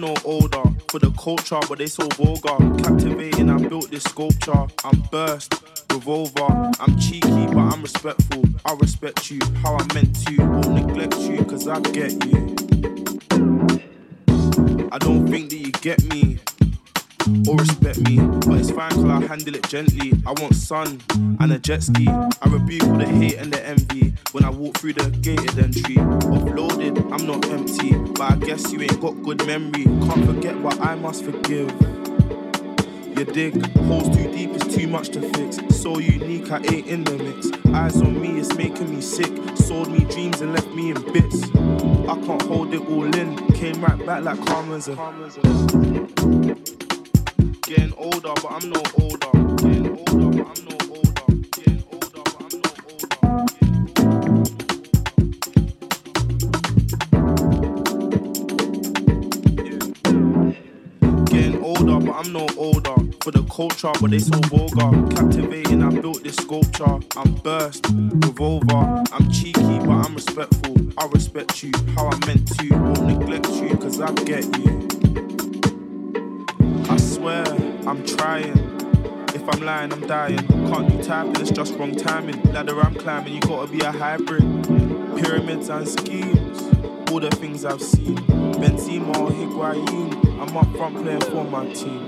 no older. For the culture, but they so vulgar. Captivating, I built this sculpture. I'm burst, revolver. I'm cheeky, but I'm respectful. I respect you, how I meant to. Won't neglect you, cause I get you. I don't think that you get me or respect me, but it's fine cause I handle it gently. I want sun and a jet ski. I rebuke all the hate and the envy when I walk through the gated entry. Offloaded, I'm not empty, but I guess you ain't got good memory. Can't forget what I must forgive. You dig, holes too deep, it's too much to fix. So unique, I ain't in the mix. Eyes on me, it's making me sick. Sold me dreams and left me in bits. I can't hold it all in. Came right back like karma's a. Getting older, but I'm no older. Getting older, but I'm no older. Getting older, but I'm no older. Getting older, but I'm no older. For the culture, but they so vulgar. Captivating, I built this sculpture. I'm burst, revolver. I'm cheeky, but I'm respectful. I respect you, how I meant to. Won't neglect you, cause I get you. I swear, I'm trying. If I'm lying, I'm dying. Can't do typing, it's just wrong timing. Ladder I'm climbing, you gotta be a hybrid. Pyramids and schemes, all the things I've seen. Benzema or Higuain, I'm up front playing for my team.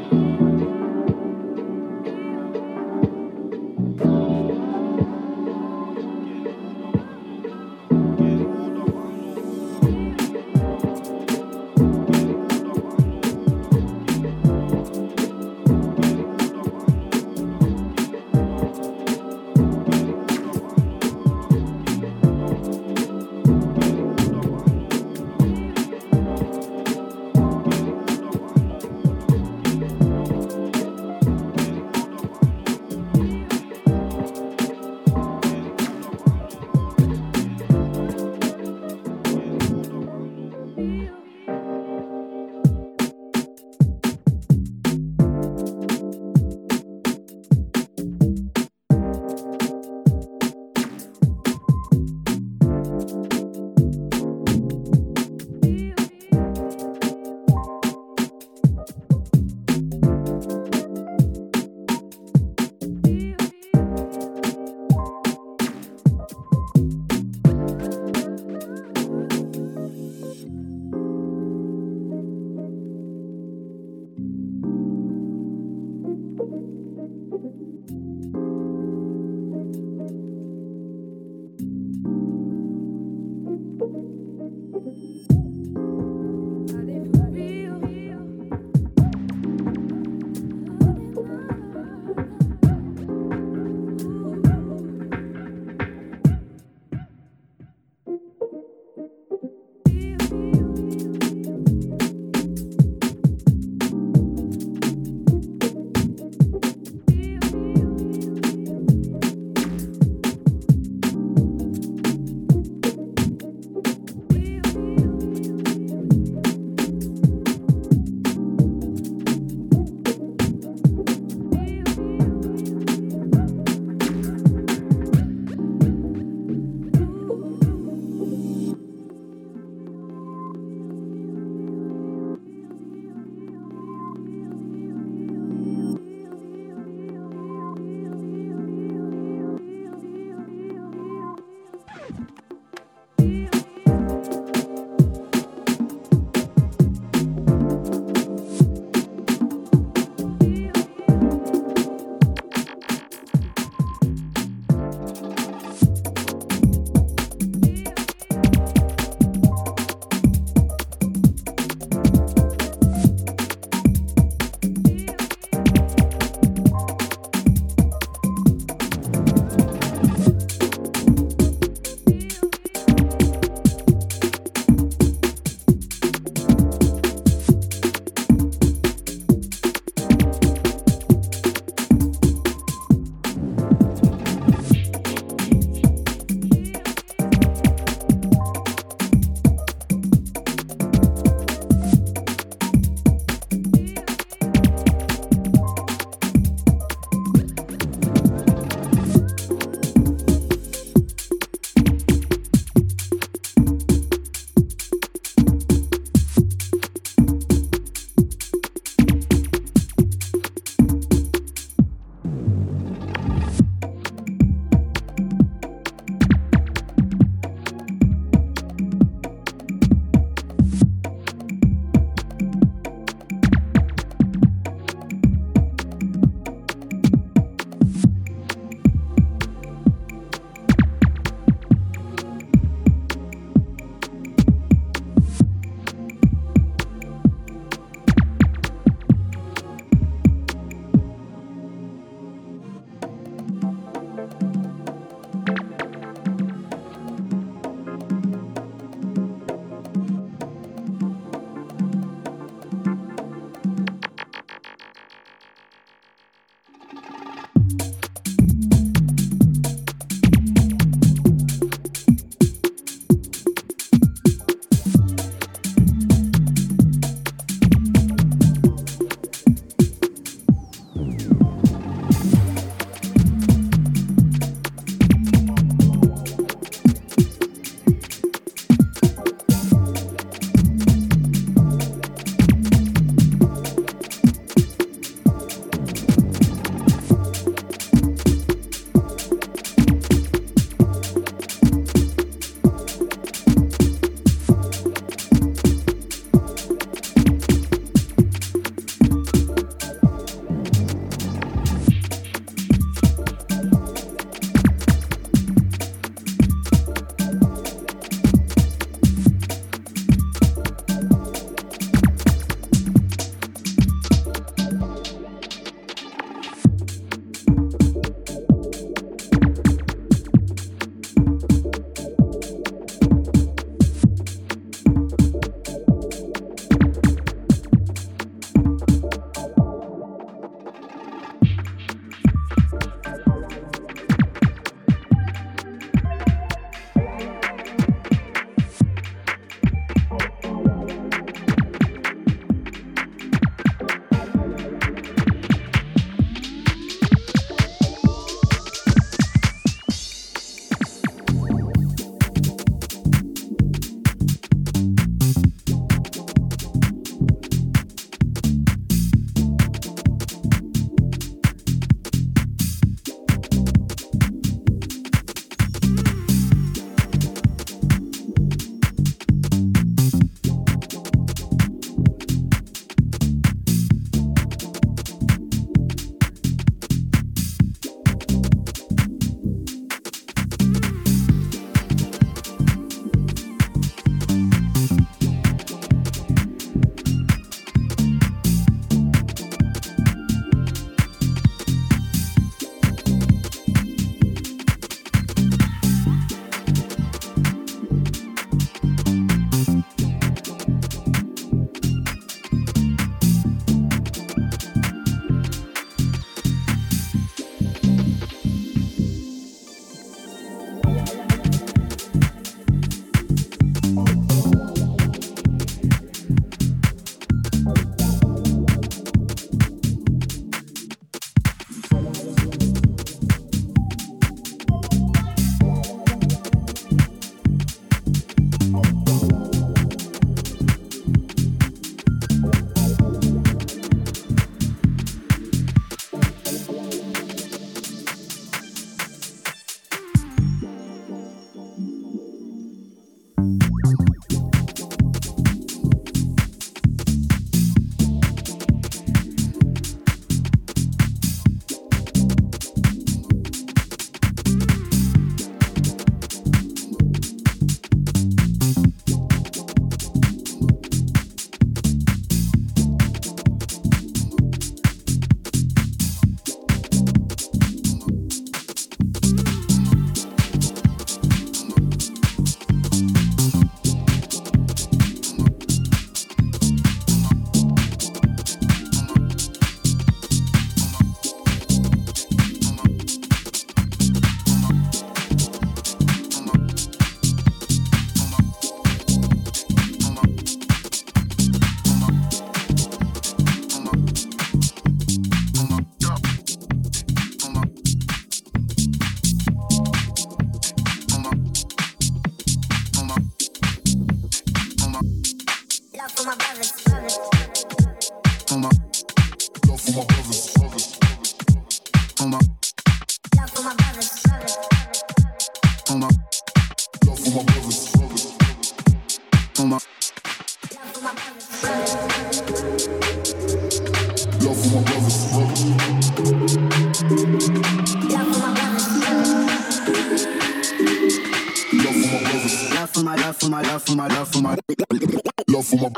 my love for my love for my love for my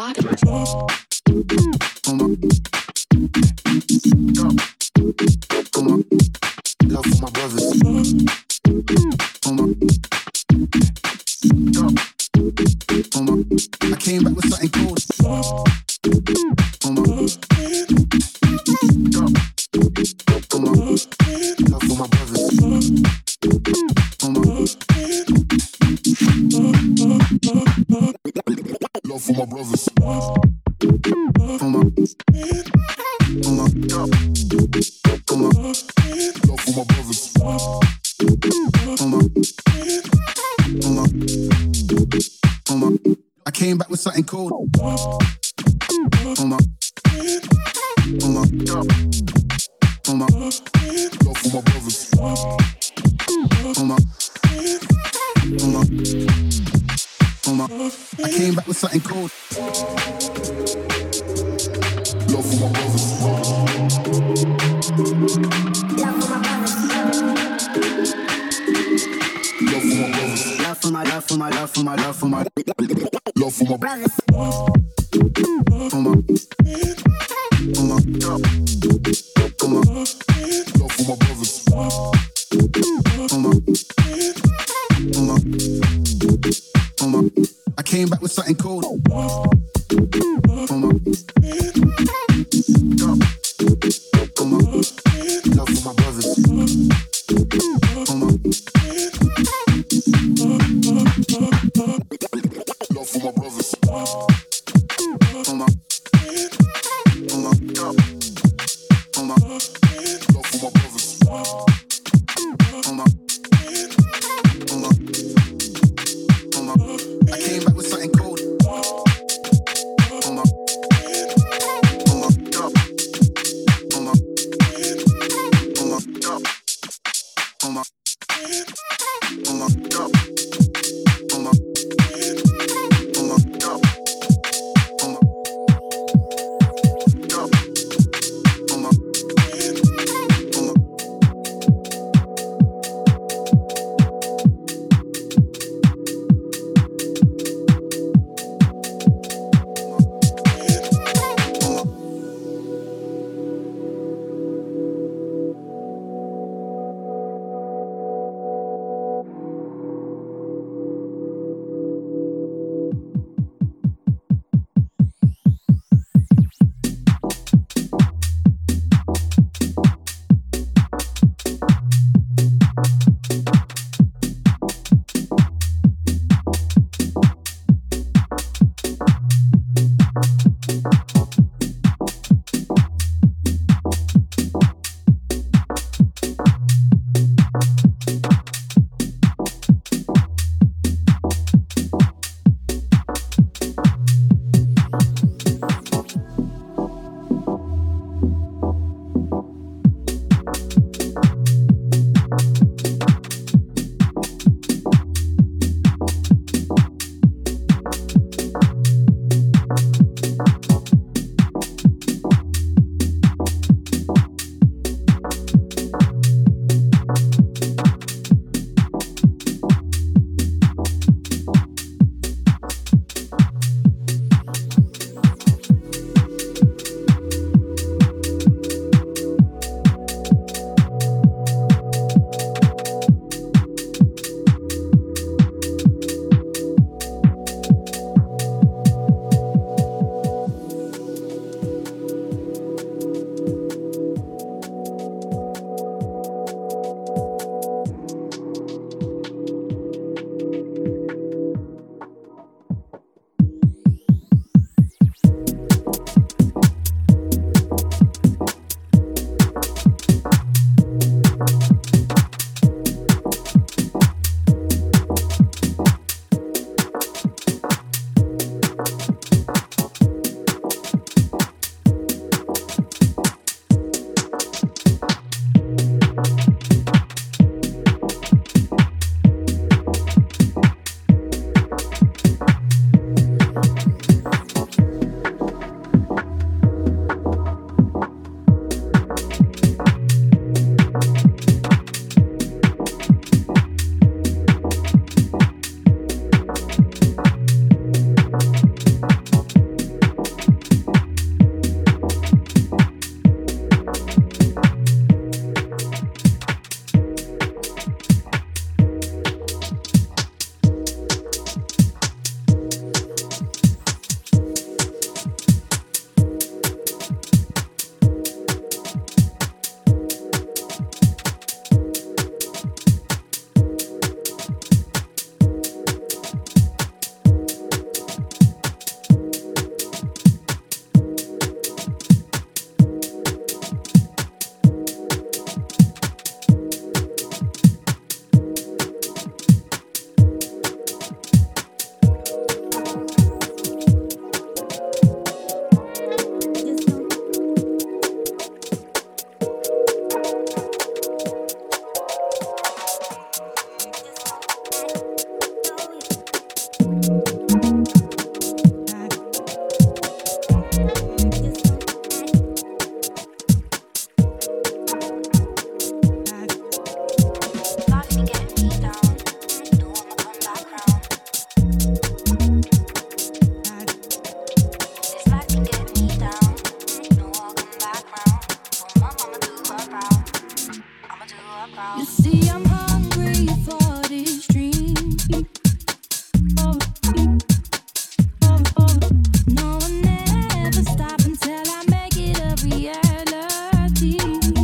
love for my brothers. I came back with something cold. Love for my brothers. Love for my brothers. Love for my brothers. I came back with something cold. Love for my brothers. I came back with something cold. Love for my brothers. Love for my brothers. Love for my love for my love for my love for my love for my brothers. Love for my brothers. I came back with something cold. Love for my brothers. Love for my brothers. I came back with something cold. You see, I'm hungry for this dream. No one ever stop until I make it a reality.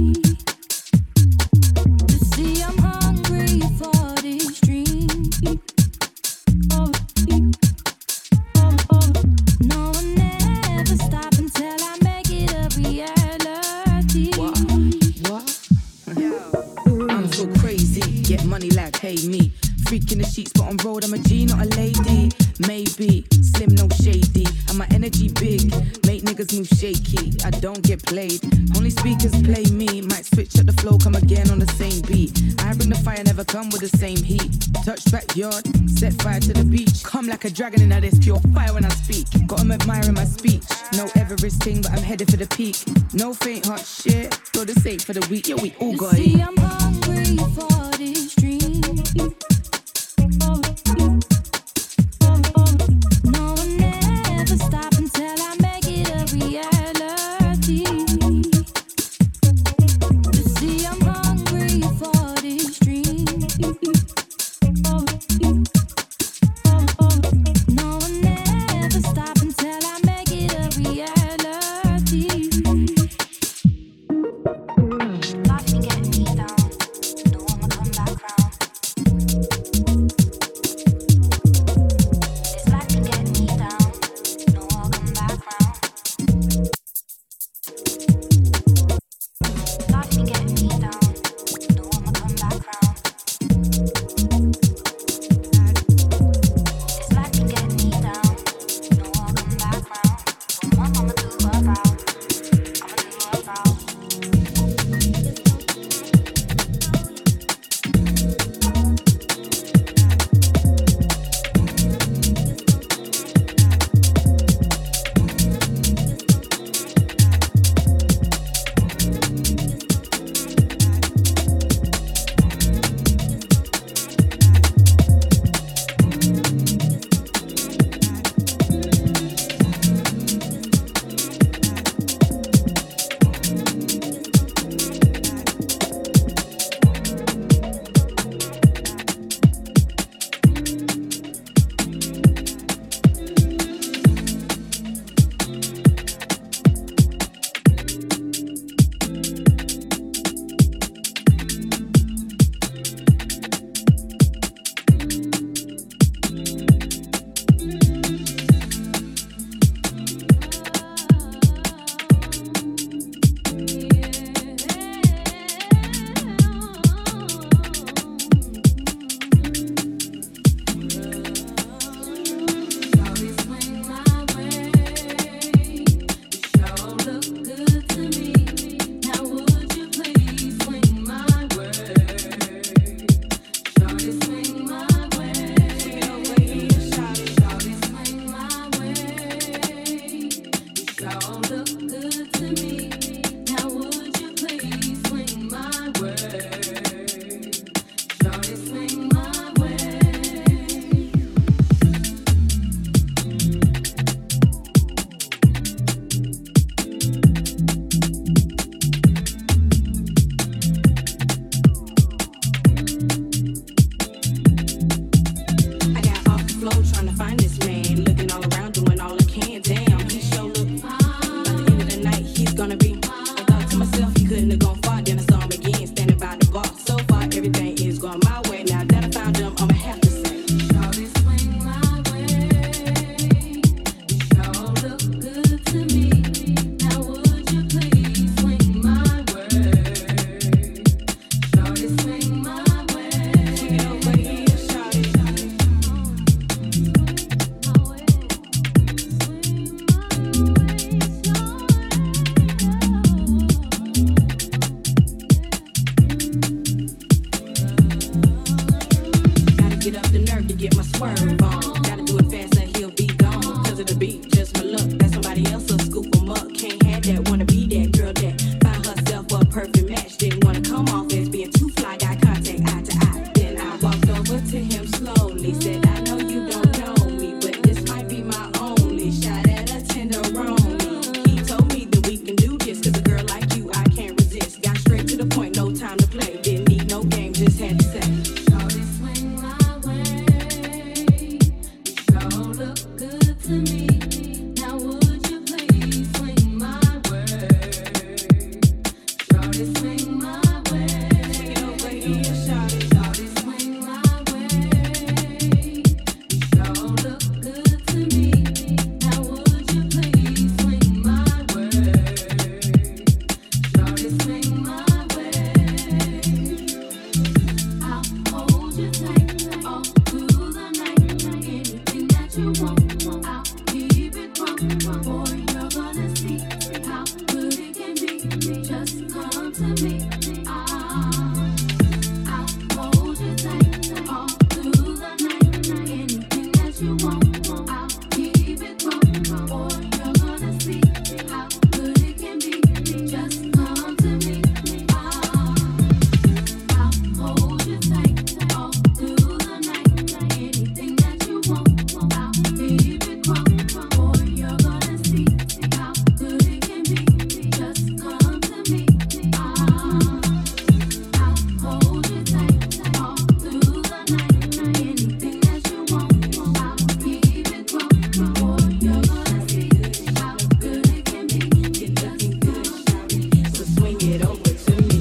You see, I'm hungry for this dream. No one ever stop until I make it a reality. What? I'm so crazy, get money like pay me. Freak in the sheets, but on road I'm a G, not a lady. Maybe, slim, no shady. And my energy big, make niggas move shaky. I don't get played, only speakers play me. Might switch up the flow, come again on the same beat. I bring the fire, never come with the same heat. Touch backyard, set fire to the beach. Come like a dragon in this pure fire when I speak. Got 'em admiring my speech. No Everest thing, but I'm headed for the peak. No faint heart shit, for the sake for the weak. Yeah, we all You got see, it. I'm hungry for this dream. No one ever stop until I make it a reality. You see, I'm hungry for this dream. No one ever stop until I make it a reality. Life be getting me down. Don't wanna come back round. This life be getting me down. No, I'll come back round. Life be getting me down. Don't wanna come back round. This life be getting me down. No, I'll come back round. From one mama to a brow. I'ma do her brow. I got off the floor trying to find this man. Looking all around, doing all I can. Damn, he sure look by the end of the night, he's gonna be. I thought to myself, he couldn't have gone far. Then I saw him again, standing by the bar. So far, everything is going my way. Now that I found him, I'ma have to say, shawty swing my way. You sure look good to me. Now would you please swing my way? Shawty swing my way. Swing it over here, shawty. Gotta get up the nerve to get my swerve on. Gotta do it fast or he'll be gone. Cause of the beat, just my luck. That somebody else will scoop him up. Can't have that, wanna be that girl that find herself a perfect match. Didn't wanna come off as being too fly. Got contact eye to eye. Then I walked over to him slowly. Said, I know you don't know me, but this might be my only shot at a tenderoni. He told me that we can do this. Cause a girl like you, I can't resist. Got straight to the point, no time to play. Didn't need no his headset. Shorty swing my way. Sure look good to me. Now would you please swing my way? Shorty swing my way. Take it over here, shawty. Shorty swing my way. Sure look good to me. Now would you please swing my way? Shorty swing my way. I'll hold you tight all through the night. Anything that you want, I'll keep it wrong. Boy, you're gonna see how good it can be. Just come to me. I'll hold you tight all through the night. Anything that you want, I'll keep it wrong. Boy, you're gonna see how good it can be. Just come to me. I'll hold you tight all through the night. Anything that you want, I'll keep it wrong. Boy, you're gonna see how good it can be. Just come to me. I'll hold you tight all through the night. Anything that you want, I'll keep it wrong. Boy, you're gonna see how good it can be. You're looking good, shawty. So swing it over to me.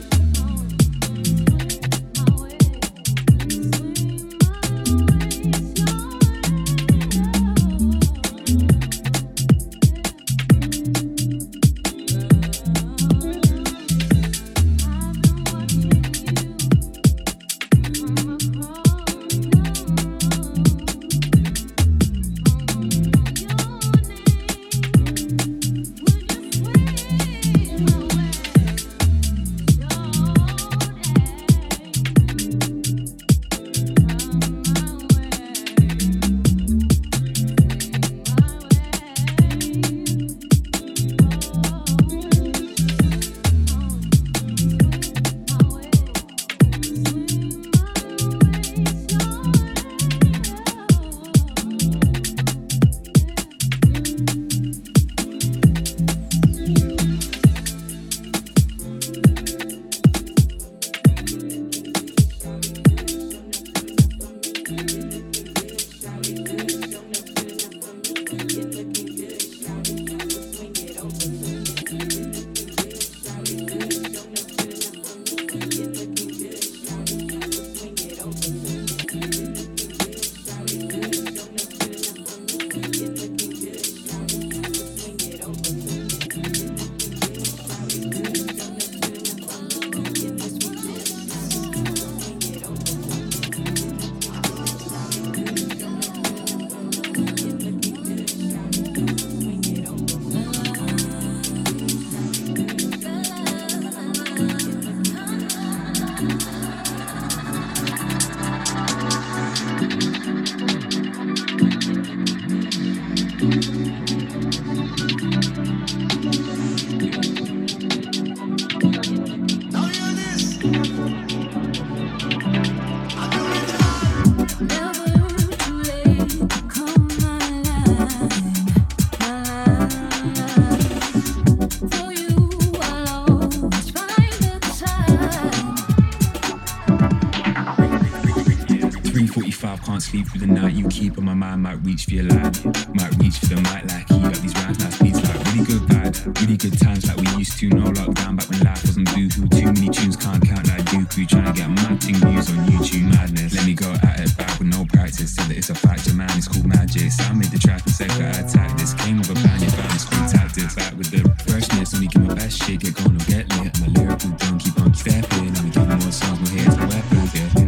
Can't sleep through the night, you keep on my mind, might reach for your light, might reach for the mic, like keep up these rhymes, nice beats, like really good vibe, really good times like we used to, no lockdown back when life wasn't boohoo, too many tunes, can't count like Dooku, trying to get mad thing views on YouTube, madness, let me go at it back with no practice, said that it's a factor, man, it's called magic, so I made the track and said that I attack this, came with a band, your fans, cool tactics, back with the freshness, only give my best shit, get going or get lit, I'm a lyrical don't keep on stepping, and we give more songs, more hits, more weapons, yeah.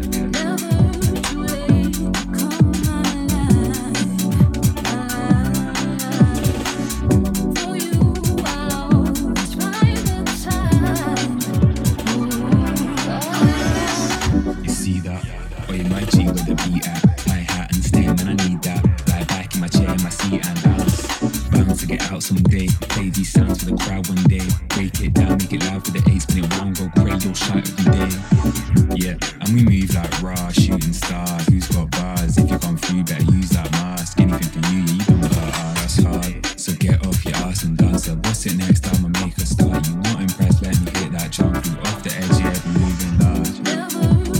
Someday, play these sounds for the crowd one day. Break it down, make it loud for the eight, spin it round, go crazy, you'll shout every day. Yeah, and we move like raw, shooting stars. Who's got bars? If you come through, better use that mask. Anything for you, yeah, you don't got us hard. So get off your ass and dance. What's it next time I make a start? You not impressed? Let me hit that jump through off the edge, yeah, be moving large.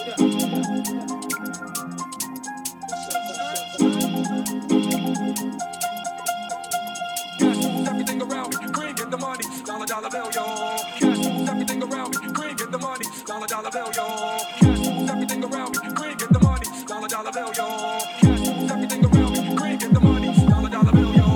Cash moves everything around me. Green, get the money. Dollar, dollar bill, yo. Cash moves everything around me. Green, get the money. Dollar, dollar bill, yo. Cash moves everything around me. Green, get the money. Dollar, dollar bill, yo. Cash moves everything around me. Green, get the money. Dollar, dollar bill, yo.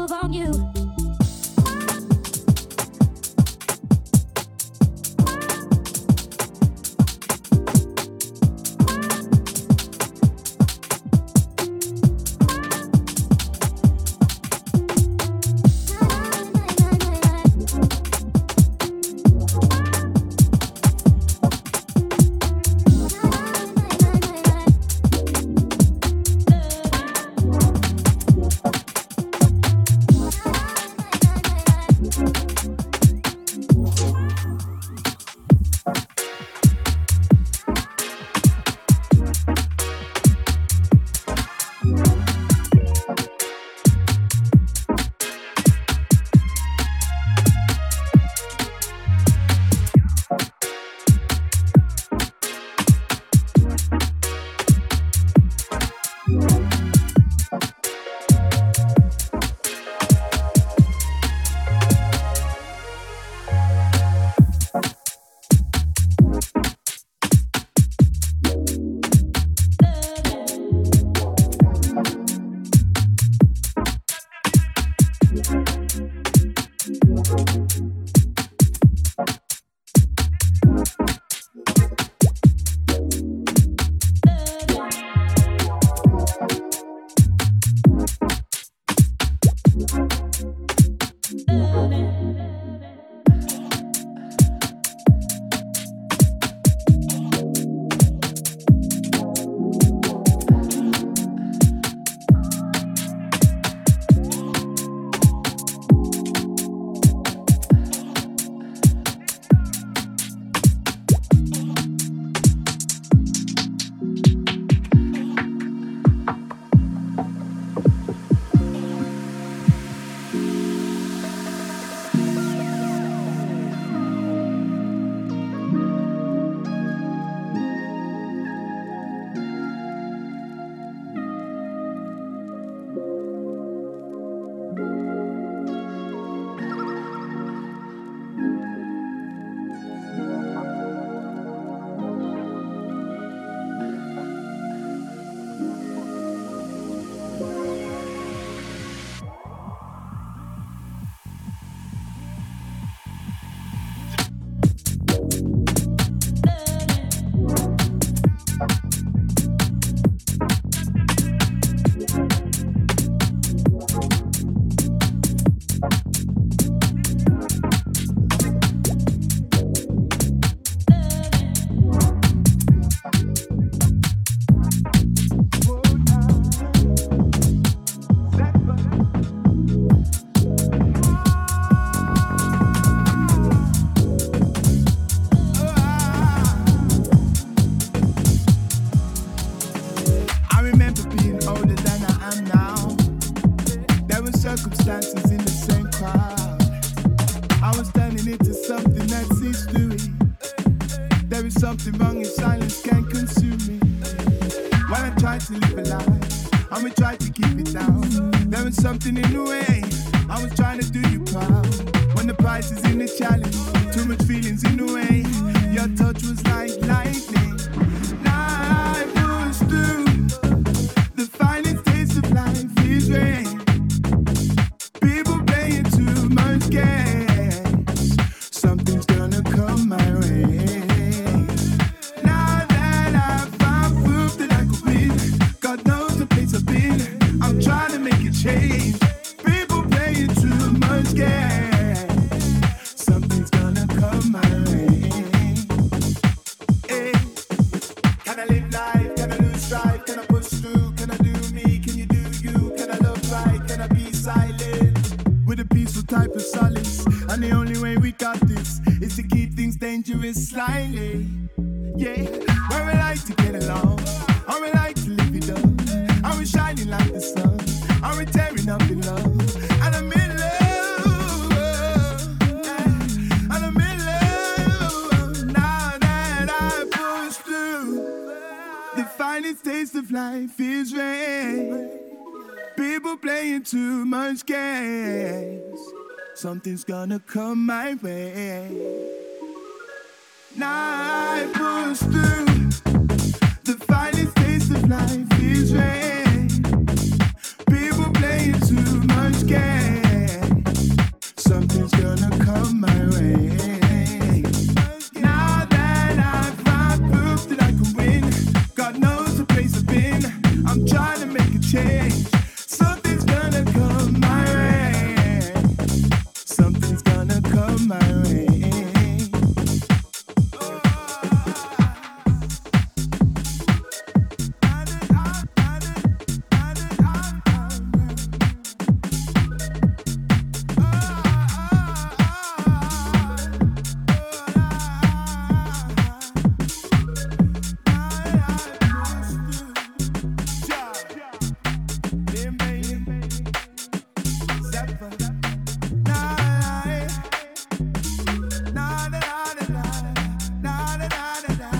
move on you. circumstances in the same crowd. I was turning into something that's history. There is something wrong if silence can consume me. While I try to live a life, I will try to keep it down. There was something in the way, I was trying to do you proud. When the price is in the challenge, too much feelings in the way. Your touch was like lightning. Life was through. The finest taste of life is rain. People playing too much games. Something's gonna come my way. Now that I found proof that I could win, God knows the place I've been. I'm trying to make a change. People playing too much games. Something's gonna come my way. Hey. Can I live life? Can I lose strife? Can I push through? Can I do me? Can you do you? Can I love right? Can I be silent? With a peaceful type of solace. And the only way we got this is to keep things dangerous slightly. Yeah, where we like to get along. How we like to live it up. How we shining like the sun. How we tearing up in love. And I'm in love. And I'm in love. Now that I push through. The finest taste of life is rain. People playing too much games. Something's gonna come my way. Now I push through. The finest taste of life is rain. People playing too much games. Zappa. Nah, nah, nah, nah, nah, nah, nah, nah.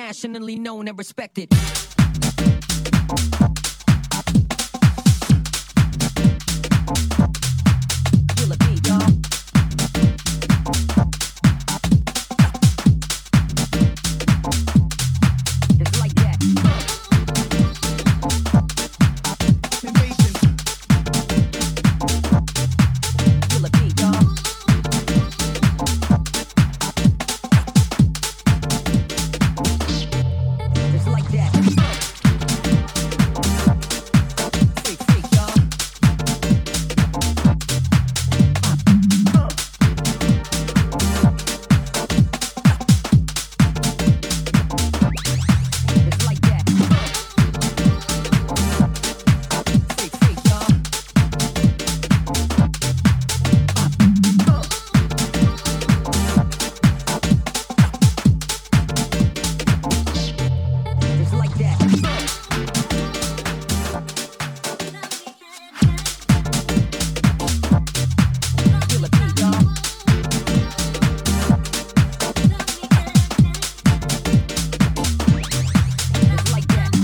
internationally known and respected. Feel a beat, y'all. It's like that. Feel a beat, y'all. It's like that. Freak, freak, y'all. It's like that. Freak, freak, y'all. It's like that. Feel a beat, y'all. It's like that.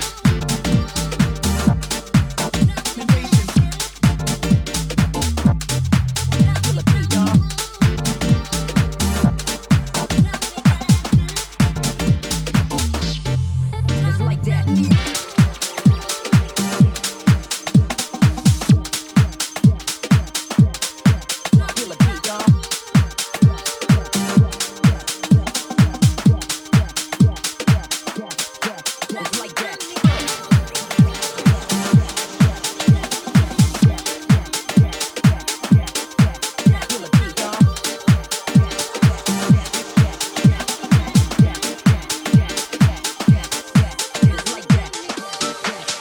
Feel a beat, y'all. It's like that. Feel a beat, y'all. It's like that. Feel a beat, y'all. It's like that.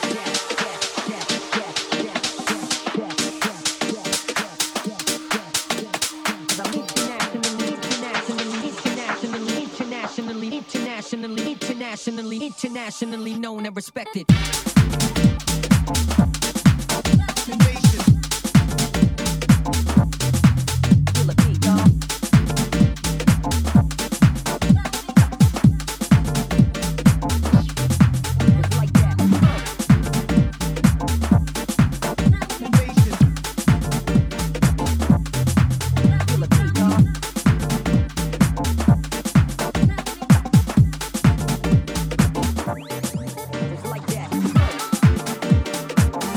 Internationally known and respected. Feel a beat, y'all. It's like that. Feel a beat, y'all. It's like that.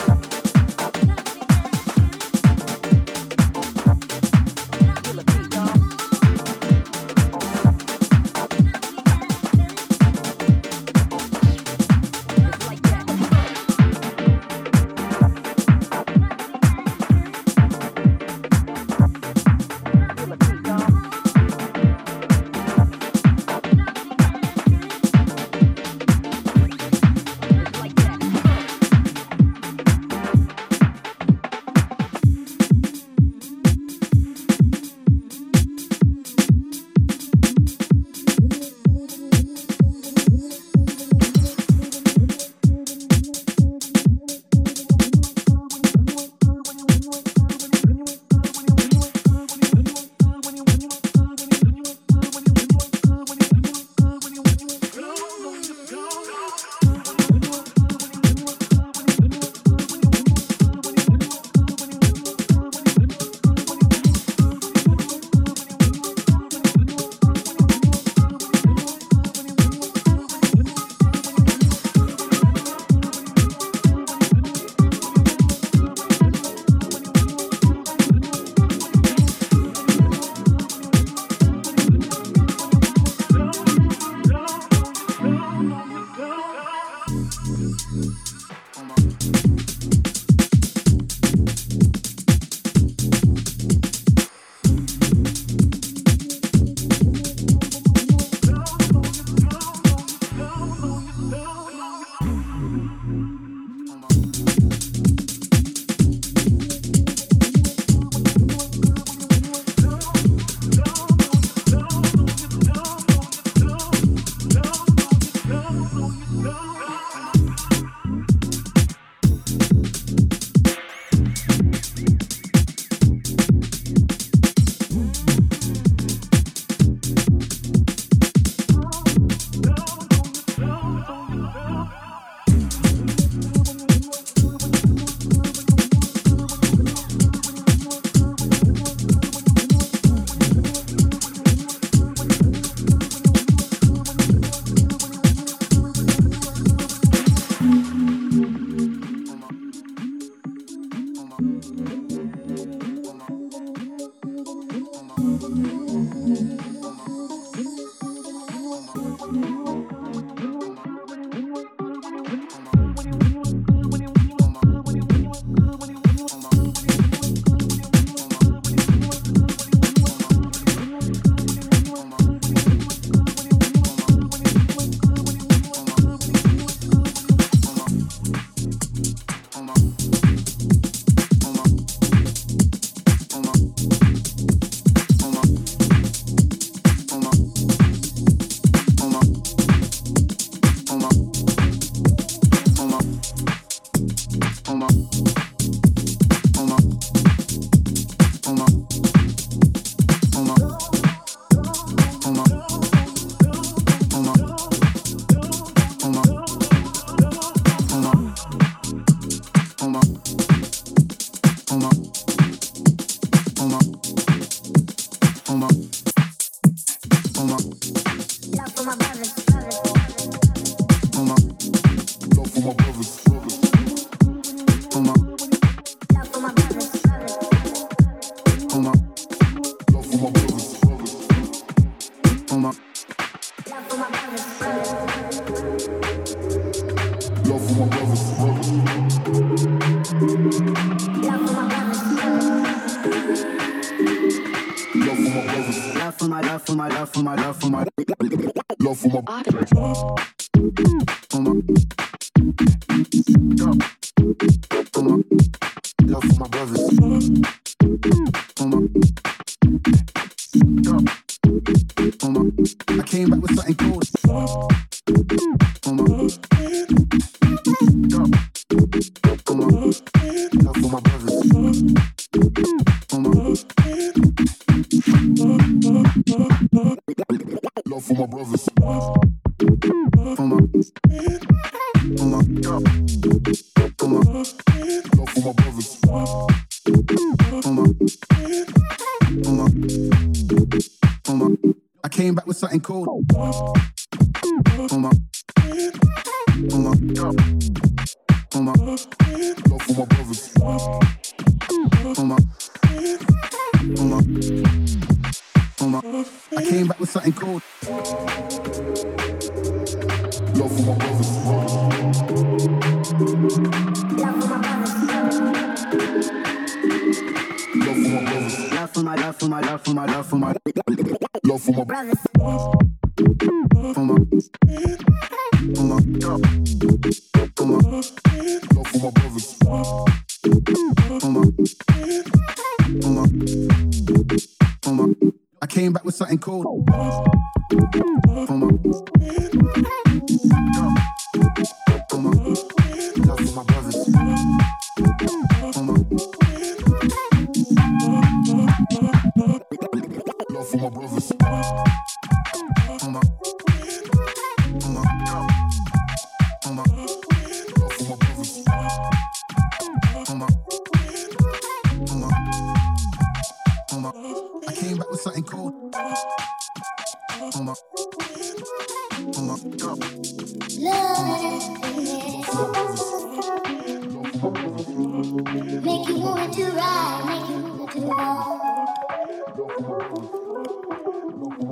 Make you want to ride, make you want to roll.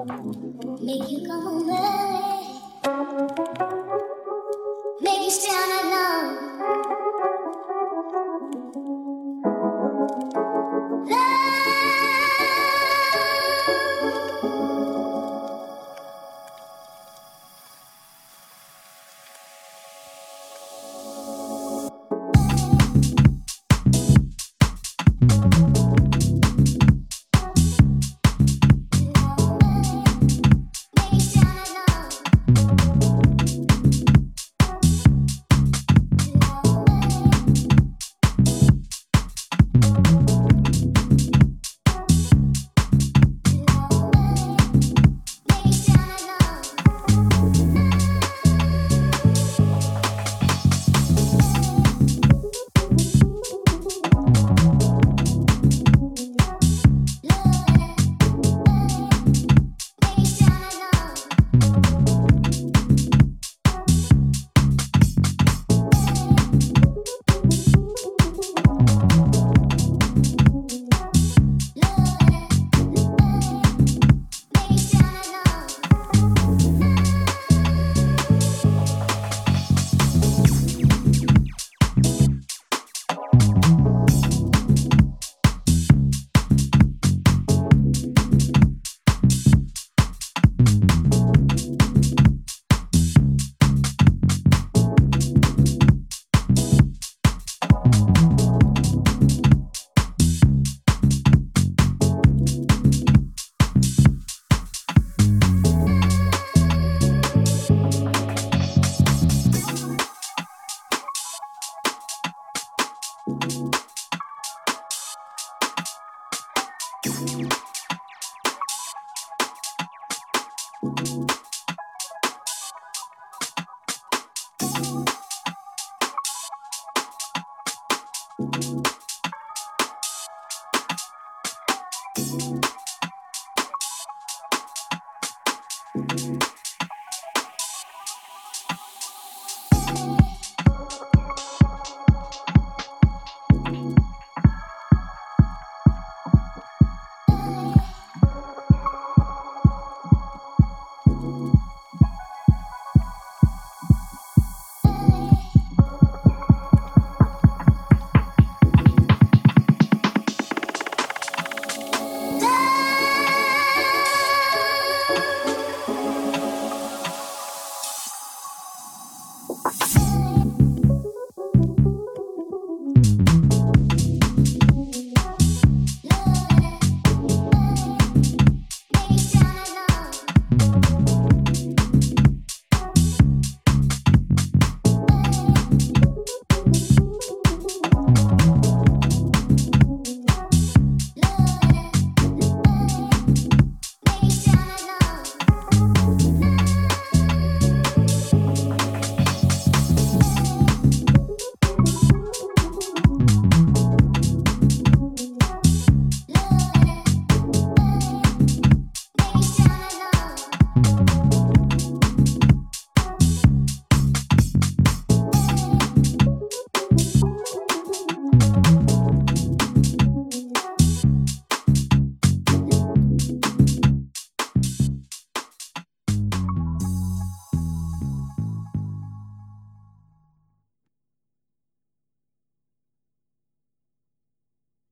Make you come on early. Make you stand